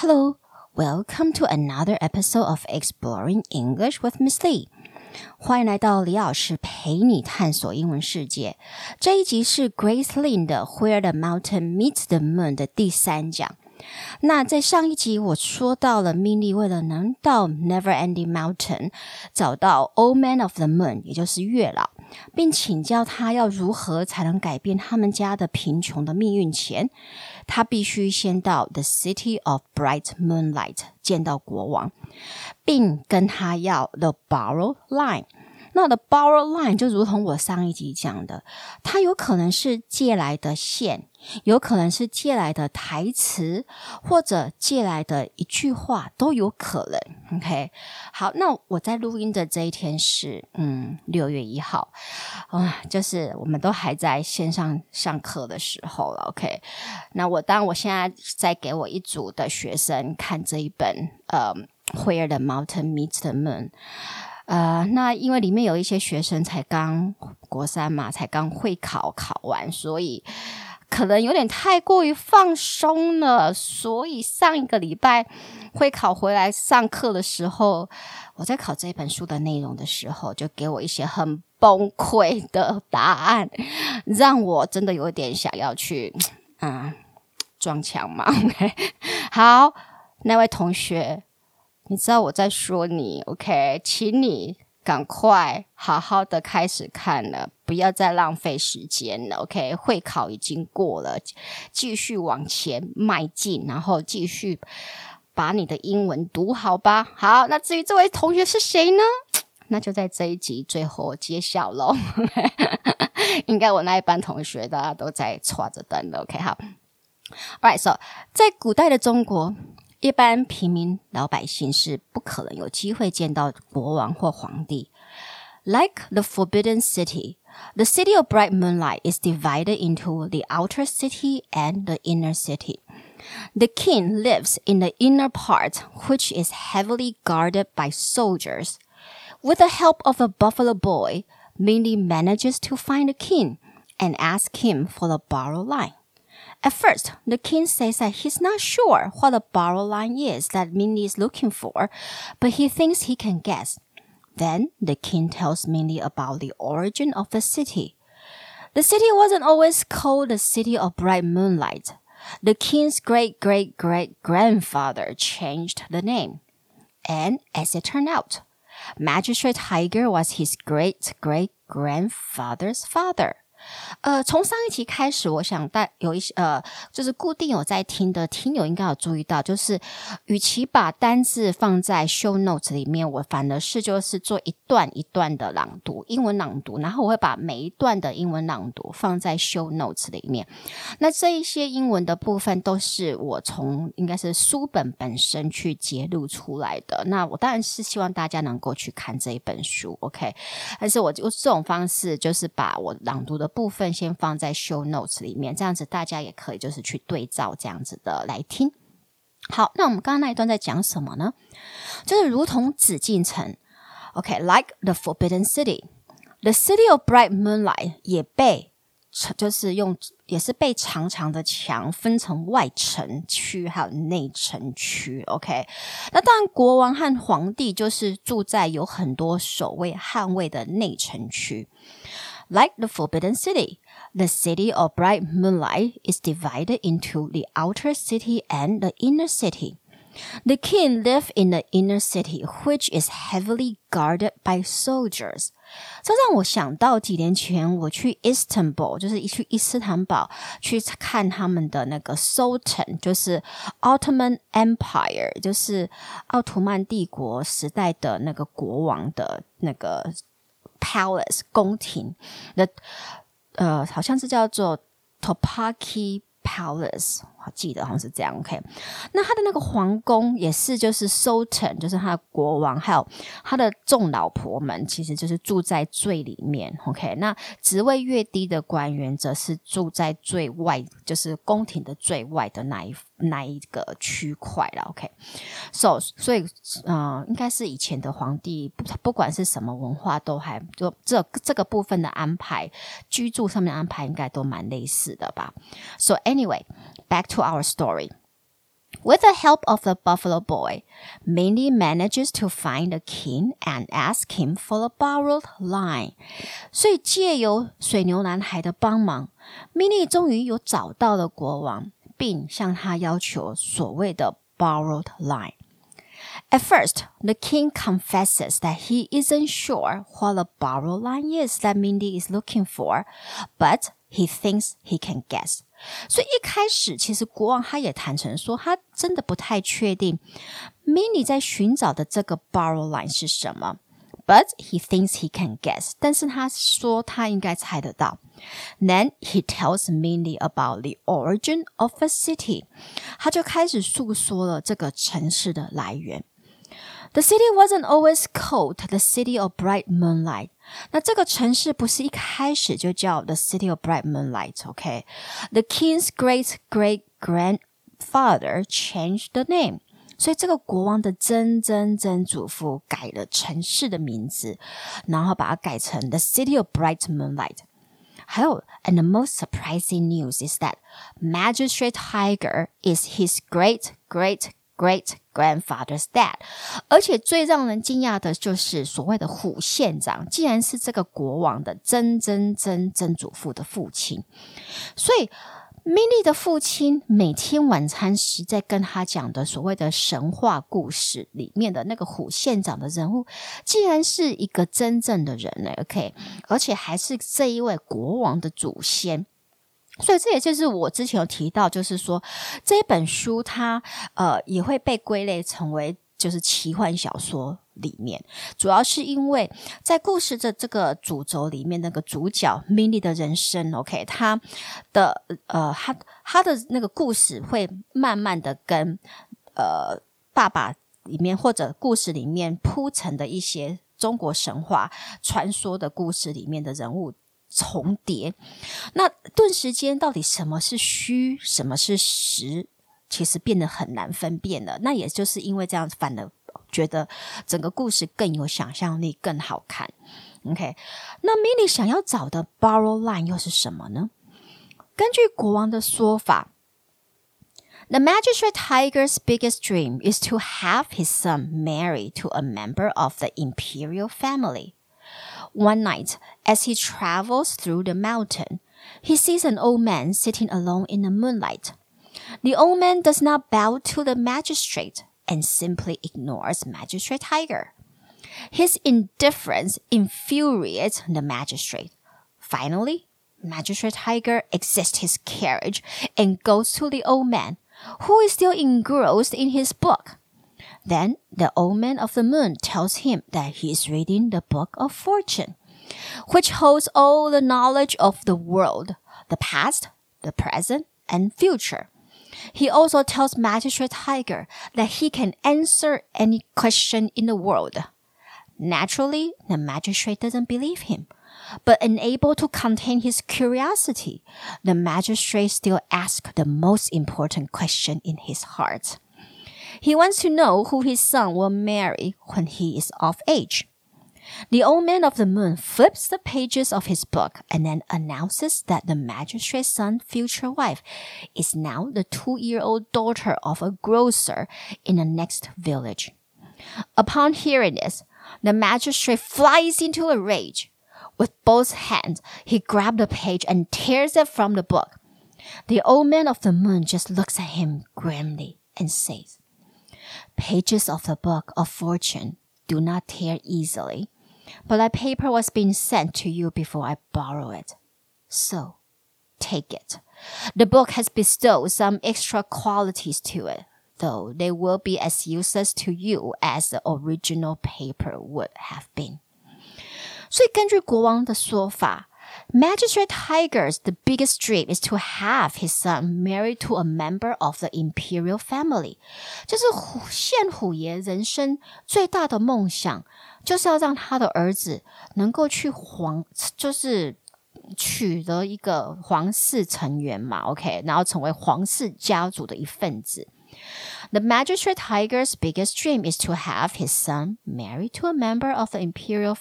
Hello, welcome to another episode of Exploring English with Miss Lee. 歡迎來到李老師陪你探索英文世界。這一集是 Grace Lin 的 Where the Mountain Meets the Moon 的第3講。那在上一集我說到了 Mindy 為了能到 Neverending Mountain 找到 Old Man of the Moon 也就是月老，並請教他要如何才能改變他們家的貧窮的命運前，他必須先到 The City of Bright Moonlight 見到國王，並跟他要 The Borrowed Line。那the borrowed line 就如同我上一集講的，它有可能是借來的線，有可能是借來的台詞，或者借來的一句話都有可能。OK， 好，那我在錄音的這一天是6月1號，就是我們都還在線上上課的時候了。OK， 那我現在在給我一組的學生看這一本Where the Mountain Meets the Moon。那因為裡面有一些學生才剛國3嘛，才剛會考完，所以可能有點太過於放鬆了，所以上一個禮拜會考回來上課的時候，我在考這本書的內容的時候，就給我一些很崩潰的答案，讓我真的有點想要去撞牆嘛。OK， 好，那位同學，你知道我在說你 ，OK， 請你趕快好好的開始看了，不要再浪費時間了 ，OK， 會考已經過了，繼續往前邁進，然後繼續把你的英文讀好吧。好，那至於這位同學是誰呢？那就在這一集最後揭曉咯。應該我那一班同學大家都在抓着燈了 ，OK， 好 ，Alright， so 在古代的中國，一般平民老百姓是不可能有機會見到國王或皇帝。Like the Forbidden City, the City of Bright Moonlight is divided into the outer city and the inner city. The king lives in the inner part, which is heavily guarded by soldiers. With the help of a buffalo boy, Mindy manages to find the king and ask him for the borrowed line.At first, the king says that he's not sure what the borrowed line is that Mindy is looking for, but he thinks he can guess. Then, the king tells Mindy about the origin of the city. The city wasn't always called the City of Bright Moonlight. The king's great-great-great-grandfather changed the name. And as it turned out, Magistrate Tiger was his great-great-grandfather's father.從上一期開始，我想有一些就是固定有在聽的聽友應該有注意到，就是與其把單字放在 show notes 裡面，我反而是就是做一段一段的朗讀，英文朗讀，然後我會把每一段的英文朗讀放在 show notes 裡面。那這一些英文的部分都是我從應該是書本本身去節錄出來的。那我當然是希望大家能夠去看這一本書 ，OK？ 但是我這種方式就是把我朗讀的部分先放在 show notes 裡面，這樣子大家也可以就是去對照這樣子的來聽。好，那我們剛剛那一段在講什麼呢？就是如同紫禁城 ，OK， like the Forbidden City, the City of Bright Moonlight 也是被長長的牆分成外城區還有內城區 ，OK。那當然，國王和皇帝就是住在有很多守衛捍衛的內城區。Like the Forbidden City, the City of Bright Moonlight is divided into the outer city and the inner city. The king lived in the inner city, which is heavily guarded by soldiers. 這讓我想到幾年前我去 Istanbul， 就是去伊斯坦堡去看他們的那個 Sultan， 就是 Ottoman Empire， 就是奧圖曼帝國時代的那個國王的那個Palace 宮廷的好像是叫做 Topkapi Palace， 我記得好像是這樣 OK。 那他的那個皇宮也是就是 Sultan， 就是他的國王還有他的眾老婆們其實就是住在最裡面 OK。 那職位越低的官員則是住在最外，就是宮廷的最外的那一個區塊啦 OK。 所以應該是以前的皇帝不管是什麼文化都還就這個部分的安排，居住上面的安排應該都蠻類似的吧。So anyway, back to our story. With the help of the buffalo boy, Mindy manages to find the king and ask him for a borrowed line. 所以借由水牛男孩的幫忙， Mindy 終於有找到了國王，並向他要求所謂的 borrowed line. At first, the king confesses that he isn't sure what a borrowed line is that Mindy is looking for, but he thinks he can guess. 所以一開始其實國王他也坦誠說他真的不太確定 Mindy 在尋找的這個 borrow line 是什麼 but he thinks he can guess 但是他說他應該猜得到 Then he tells Mindy about the origin of a city 他就開始訴說了這個城市的來源The city wasn't always called the City of Bright Moonlight. 那這個城市不是一開始就叫 The City of Bright Moonlight, okay? The king's great-great-grandfather changed the name. 所以這個國王的曾祖父改了城市的名字，然後把它改成 The City of Bright Moonlight. 還有 and the most surprising news is that Magistrate Tiger is his great-great-great-grandfather's dad. 而且最讓人驚訝的就是所謂的虎縣長竟然是這個國王的曾祖父的父親。所以 Mindy 的父親每天晚餐時在跟他講的所謂的神話故事裡面的那個虎縣長的人物竟然是一個真正的人了 OK 而且還是這一位國王的祖先所以這也就是我之前有提到就是說這一本書它也會被歸類成為就是奇幻小說裡面主要是因為在故事的這個主軸裡面那個主角 Mindy 的人生 OK 他的那個故事會慢慢的跟爸爸裡面或者故事裡面鋪陳的一些中國神話傳說的故事裡面的人物重疊那頓時間到底什麼是虛什麼是實其實變得很難分辨了那也就是因為這樣反而覺得整個故事更有想象力更好看 OK 那 Mindy 想要找的 borrow line 又是什麼呢根據國王的說法 The Magistrate Tiger's biggest dream is to have his son marry to a member of the imperial family One night, as he travels through the mountain, he sees an old man sitting alone in the moonlight. The old man does not bow to the magistrate and simply ignores Magistrate Tiger. His indifference infuriates the magistrate. Finally, Magistrate Tiger exits his carriage and goes to the old man, who is still engrossed in his book.Then the old man of the moon tells him that he is reading the book of fortune, which holds all the knowledge of the world, the past, the present, and future. He also tells Magistrate Tiger that he can answer any question in the world. Naturally, the magistrate doesn't believe him, but unable to contain his curiosity, the magistrate still asks the most important question in his heart.He wants to know who his son will marry when he is of age. The old man of the moon flips the pages of his book and then announces that the magistrate's son's future wife is now the 2-year-old daughter of a grocer in the next village. Upon hearing this, the magistrate flies into a rage. With both hands, he grabs the page and tears it from the book. The old man of the moon just looks at him grimly and says,Pages of the book of fortune do not tear easily, but that paper was being sent to you before I borrow it. So, take it. The book has bestowed some extra qualities to it, though they will be as useless to you as the original paper would have been. 所以根據國王的說法Magistrate Tiger's the biggest dream is to have his son married to a member of the imperial family. 就是县虎爺人生最大的夢想，就是要讓他的兒子能夠去就是取得一個皇室成員嘛 ，OK， 然後成為皇室家族的一份子。The Magistrate Tiger's biggest dream is to have his son married to a member of the imperial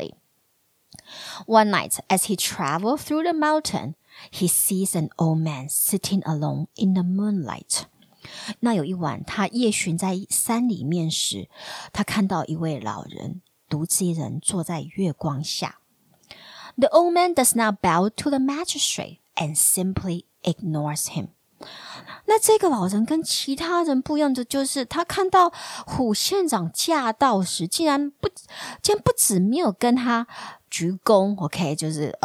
family.One night, as he traveled through the mountain, he sees an old man sitting alone in the moonlight. 那有一晚，他夜巡在山裡面時，他看到一位老人獨自一人坐在月光下。The old man does not bow to the magistrate and simply ignores him. 那這個老人跟其他人不一樣的就是他看到虎縣長駕到時竟然不止沒有跟他鞠躬 OK 就是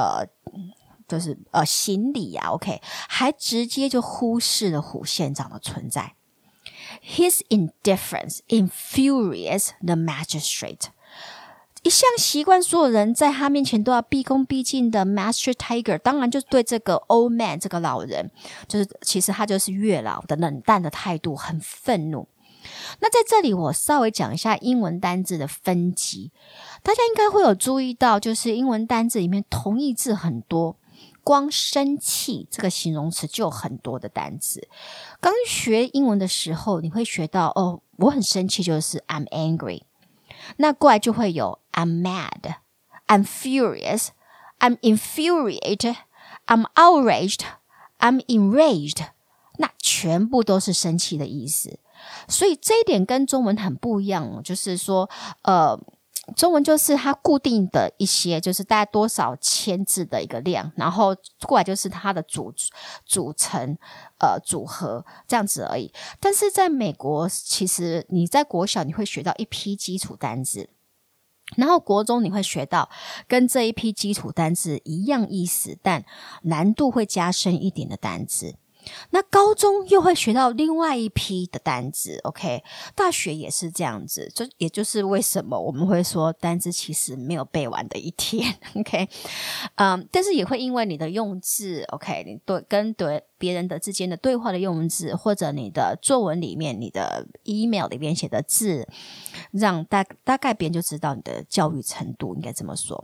行禮啊 OK 還直接就忽視了虎縣長的存在。His indifference infuriates the magistrate. 一向習慣所有人在他面前都要畢恭畢敬的 Master Tiger 當然就對這個 old man 這個老人就是其實他就是月老的冷淡的態度很憤怒。那在這裡我稍微講一下英文單字的分級，大家應該會有注意到就是英文單字裡面同義字很多，光生氣這個形容詞就有很多的單字。剛學英文的時候你會學到我很生氣就是 I'm angry， 那過來就會有I'm mad, I'm furious, I'm infuriated, I'm outraged, I'm enraged. 那全部都是生氣的意思。所以這一點跟中文很不一樣，就是說中文就是它固定的一些就是大概多少千字的一個量，然後過來就是它的組成組合這樣子而已。但是在美國其實你在國小你會學到一批基礎單字，然後國中你會學到跟這一批基礎單字一樣意思但難度會加深一點的單字，那高中又會學到另外一批的單字 OK 大學也是這樣子，也就是為什麼我們會說單字其實沒有背完的一天 OK 但是也會因為你的用字 OK 你跟別人的之間的對話的用字，或者你的作文裡面你的 email 裡面寫的字，讓大概別人就知道你的教育程度應該這麼說。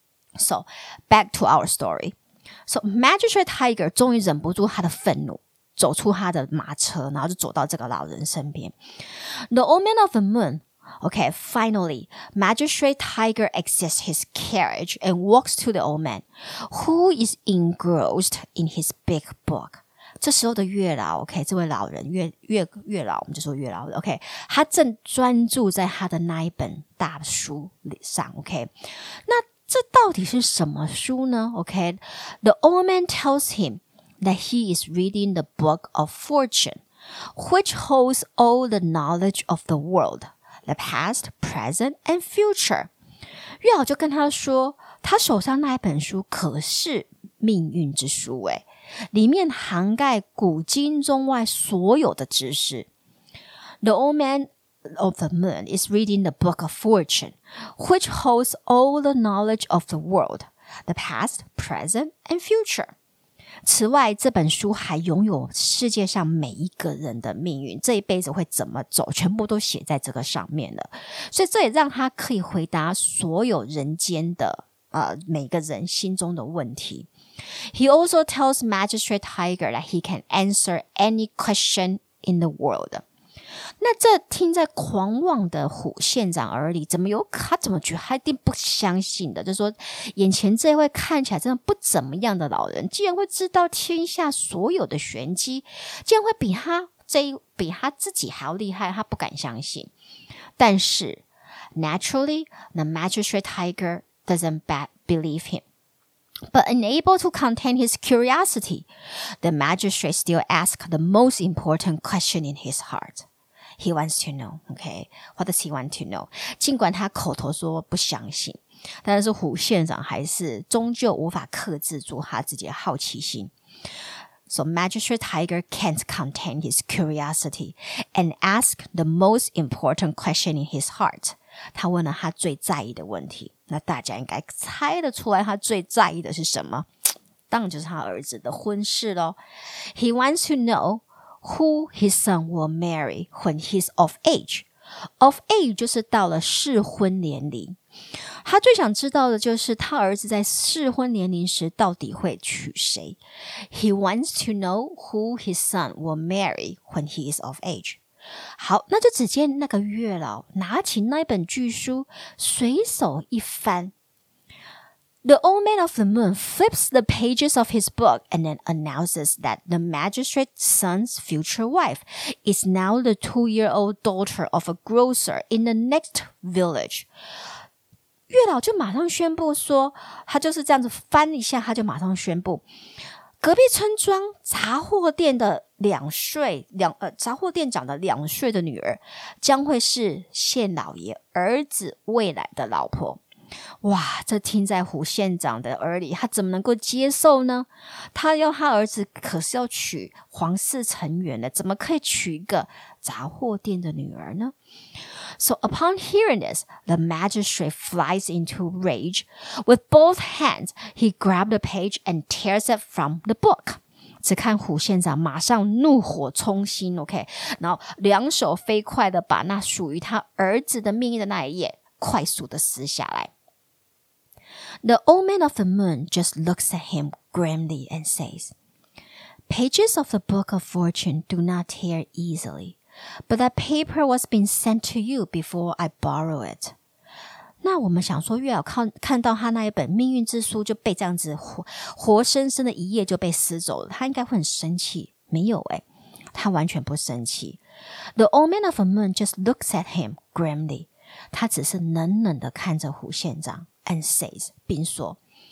So back to our story.So Magistrate Tiger 終於忍不住他的憤怒，走出他的馬車，然後就走到這個老人身邊。The old man of the moon, okay, finally, Magistrate Tiger exits his carriage and walks to the old man, who is engrossed in his big book. 這時候的月老 OK 這位老人月老我們就說月老 OK 他正專注在他的那一本大書上 OK 那這到底是什麼書呢 OK The old man tells him that he is reading the book of fortune which holds all the knowledge of the world the past, present and future 月老就跟他說他手上那一本書可是命運之書誒裡面涵蓋古今中外所有的知識。 The old man of the moon is reading the book of fortune, which holds all the knowledge of the world, the past, present, and future. 此外，這本書還擁有世界上每一個人的命運，這一輩子會怎麼走，全部都寫在這個上面了。所以這也讓他可以回答所有人間的每個人心中的問題。He also tells Magistrate Tiger that he can answer any question in the world. 那這聽在狂妄的虎縣長耳裡，他怎麼覺得他一定不相信的，就是說眼前這位看起來真的不怎麼樣的老人，竟然會知道天下所有的玄機，竟然會比他自己還要厲害，他不敢相信。但是 naturally, the Magistrate Tiger doesn't believe him.But unable to contain his curiosity, the magistrate still asks the most important question in his heart. He wants to know, okay? What does he want to know? 儘管他口頭說不相信，但是虎縣長還是終究無法克制住他自己的好奇心。So Magistrate Tiger can't contain his curiosity and asks the most important question in his heart. 他問了他最在意的問題，那大家應該猜得出來他最在意的是什麼？當然就是他兒子的婚事咯。He wants to know who his son will marry when he's of age. Of age 就是到了適婚年齡。他最想知道的就是他兒子在適婚年齡時到底會娶誰。He wants to know who his son will marry when he is of age.好，那就只見那個月老拿起那本巨書，隨手一翻， The old man of the moon flips the pages of his book and then announces that the magistrate's son's future wife is now the 2-year-old daughter of a grocer in the next village. 月老就馬上宣布說，他就是這樣子翻一下，他就馬上宣布，隔壁村莊雜貨店的雜貨店長的2歲的女兒，將會是縣老爺兒子未來的老婆。哇，這聽在胡縣長的耳裡，他怎麼能夠接受呢？他兒子可是要娶皇室成員的，怎麼可以娶一個雜貨店的女兒呢？ So upon hearing this, the magistrate flies into rage. With both hands, he grabbed the page and tears it from the book. 只看胡縣長馬上怒火衝心 ，OK， 然後2手飛快的把那屬於他兒子的命運的那一頁快速的撕下來。The old man of the moon just looks at him grimly and says, "Pages of the book of fortune do not tear easily, but that paper was being sent to you before I borrow it." 那我們想說，月老看到他那一本命運之書就被這樣子活生生的一頁就被撕走了，他應該會很生氣。沒有誒，他完全不生氣。The old man of the moon just looks at him grimly. 他只是冷冷的看着胡縣長 and says 並說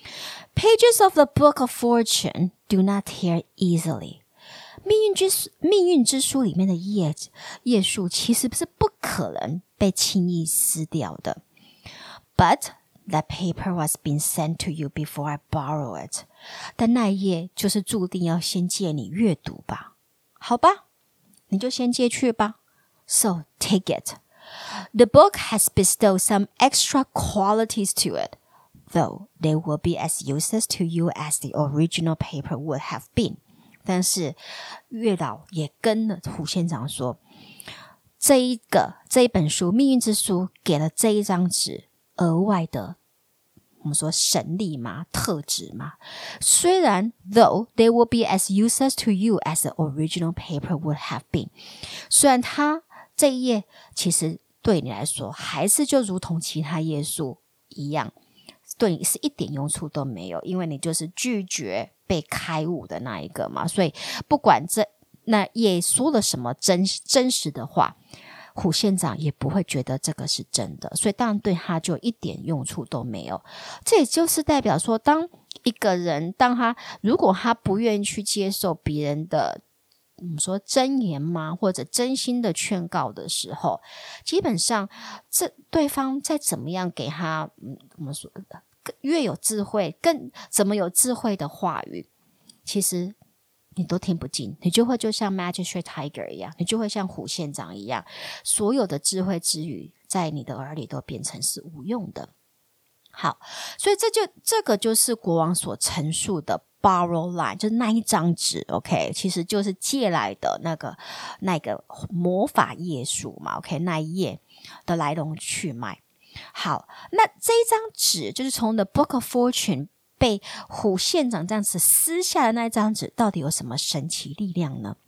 Pages of the book of fortune do not tear easily. 命運之書裡面的頁數其實是不可能被輕易撕掉的。But that paper was being sent to you before I borrow it. 但那一頁就是注定要先借你閱讀吧。好吧，你就先借去吧。So take it.The book has bestowed some extra qualities to it, though they will be as useless to you as the original paper would have been. 但是月老也跟了胡縣長說，這一本書《命運之書》給了這一張紙額外的，我們說神力嘛，特質嘛。雖然 though they will be as useless to you as the original paper would have been， 雖然它這一頁其實對你來說還是就如同其他頁數一樣，對你是一點用處都沒有，因為你就是拒絕被開悟的那一個嘛，所以不管那頁說了什麼真實的話，胡縣長也不會覺得這個是真的，所以當然對他就一點用處都沒有。這也就是代表說，當一個人如果他不願意去接受別人的我們說真言嗎，或者真心的勸告的時候，基本上對方再怎麼樣給他我們說越有智慧，更怎麼有智慧的話語，其實你都聽不進，你就會就像 Magistrate Tiger 一樣，你就會像胡縣長一樣，所有的智慧之語在你的耳裡都變成是無用的。好，所以這個就是國王所陳述的 borrow line， 就是那一張紙 OK， 其實就是借來的那個魔法頁數嘛 OK， 那一頁的來龍去脈。好，那這一張紙就是從 The Book of Fortune 被胡縣長這樣子撕下的那一張紙，到底有什麼神奇力量呢？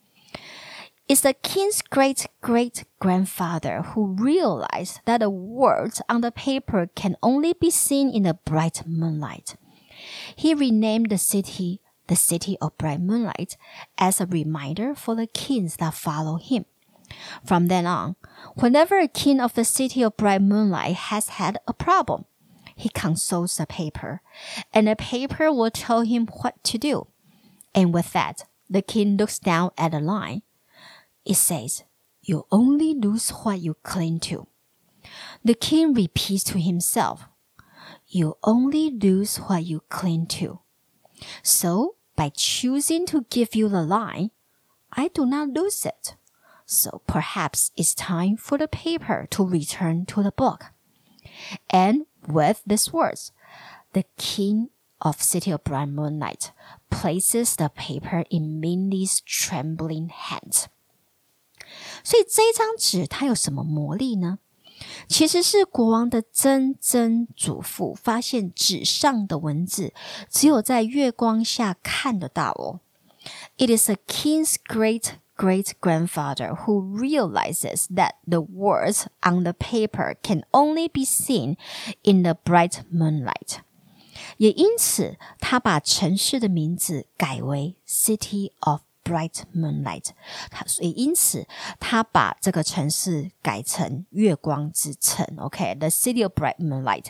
It's the king's great-great-grandfather who realized that the words on the paper can only be seen in the bright moonlight. He renamed the city of bright moonlight as a reminder for the kings that follow him. From then on, whenever a king of the city of bright moonlight has had a problem, he consults the paper, and the paper will tell him what to do. And with that, the king looks down at the line. It says, "You only lose what you cling to." The king repeats to himself, "You only lose what you cling to." So, by choosing to give you the line, I do not lose it. So perhaps it's time for the paper to return to the book. And with these words, the king of City of Bright Moonlight places the paper in Mindy's trembling hand. 所以這一張紙它有什麼魔力呢？其實是國王的曾曾祖父發現紙上的文字只有在月光下看得到哦。It is a king's great-great-grandfather who realizes that the words on the paper can only be seen in the bright moonlight. 也因此他把城市的名字改為 City of Bright Moonlight， 所以因此他把這個城市改成月光之城 OK，The City of Bright Moonlight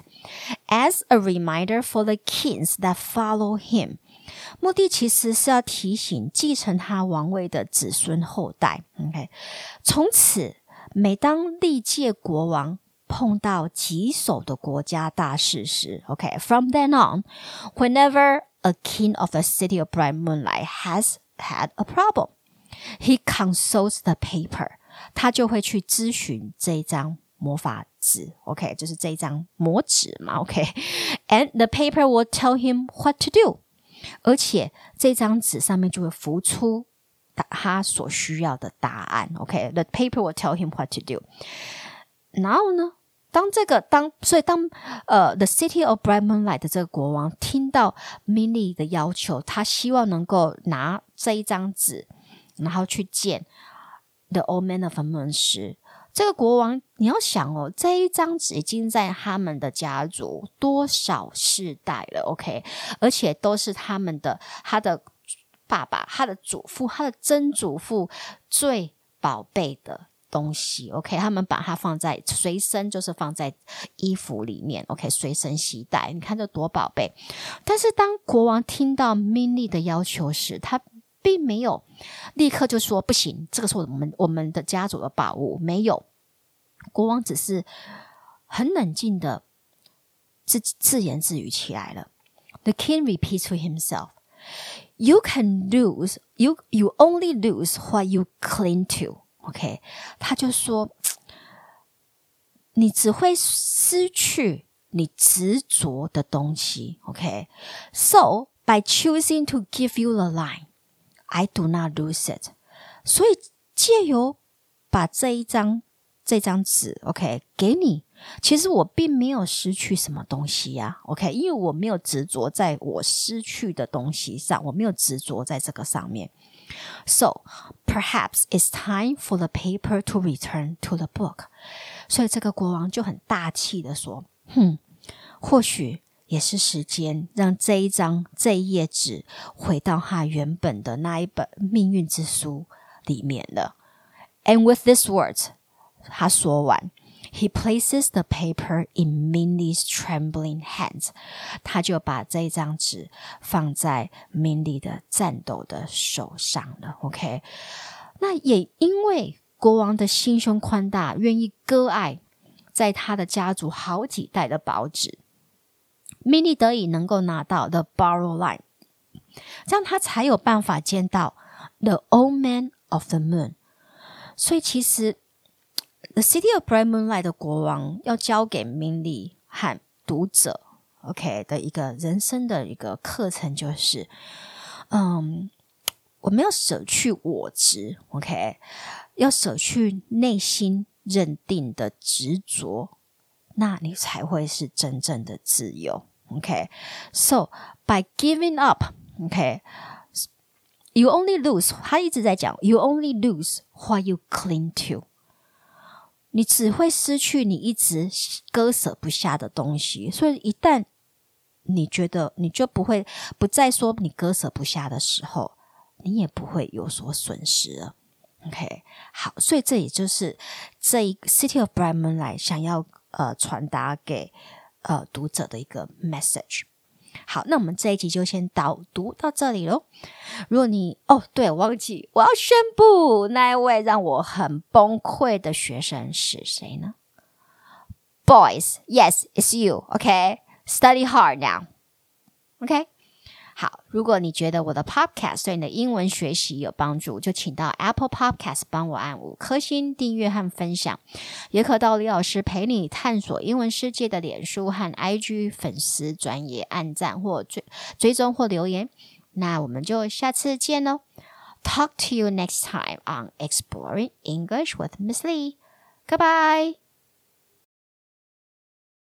as a reminder for the kings that follow him， 目的其實是要提醒繼承他王位的子孫後代 OK， 從此每當歷屆國王碰到棘手的國家大事時 OK， From then on whenever a king of the City of Bright Moonlight has had a problem, he consults the paper. 他就會去諮詢這一張魔法紙 OK， 就是這一張魔紙嘛 OK， And the paper will tell him what to do. 而且這張紙上面就會浮出他所需要的答案 OK， The paper will tell him what to do. 然後呢所以當The City of Bright Moonlight 的這個國王聽到 Minnie 的要求，他希望能夠拿這一張紙然後去見 The Old Man of the Moon 時，這個國王你要想哦，這一張紙已經在他們的家族多少世代了 OK， 而且都是他的爸爸、他的祖父、他的曾祖父最寶貝的東西 OK， 他們把它放在隨身，就是放在衣服裡面 OK， 隨身攜帶，你看這多寶貝。但是當國王聽到 Minnie 的要求時，他並沒有立刻就說不行，這個是我們的家族的寶物，沒有。國王只是很冷靜的自言自語起來了。The king repeats to himself, You can lose, you only lose what you cling to OK， 他就說你只會失去你執着的東西 OK， So by choosing to give you the line, I do not lose it。 所以借由把這張紙 OK 給你，其實我並沒有失去什麼東西呀 OK， 因為我沒有執着在我失去的東西上，我沒有執着在這個上面。So, perhaps it's time for the paper to return to the book. 所以這個國王就很大氣的說，或許也是時間讓這一頁紙回到他原本的那一本命運之書裡面了。And with these words, 他說完，He places the paper in Minnie's trembling hands. 他就把這張紙放在 Minnie 的顫抖的手上了 OK， 那也因為國王的心胸寬大，願意割愛在他的家族好幾代的寶紙， Minnie 得以能夠拿到 The Borrow Line， 這樣他才有辦法見到 The Old Man of the Moon。 所以其實The City of Bright Moonlight 的國王要交給 Minnie 和讀者 OK 的一個人生的一個課程，就是我們要捨去我執 OK， 要捨去內心認定的執着，那你才會是真正的自由 OK。 So by giving up OK， you only lose， 他一直在講 you only lose what you cling to，你只會失去你一直割捨不下的東西，所以一旦你覺得你就不再說你割捨不下的時候，你也不會有所損失了 OK。 好，所以這也就是這一個 City of Bright Moonlight 想要傳達給讀者的一個 message。好，那我們這一集就先導讀到這裡咯。如果你對，我忘記我要宣布那一位讓我很崩潰的學生是誰呢？ Boys, yes, it's you, okay? Study hard now, okay? 好，如果你覺得我的 podcast 對你的英文學習有幫助，就請到 Apple Podcast 幫我按5顆星訂閱和分享，也可到李老師陪你探索英文世界的臉書和 IG 粉絲專頁按讚或追蹤或留言。那我們就下次見咯。Talk to you next time on Exploring English with Miss Lee. Goodbye.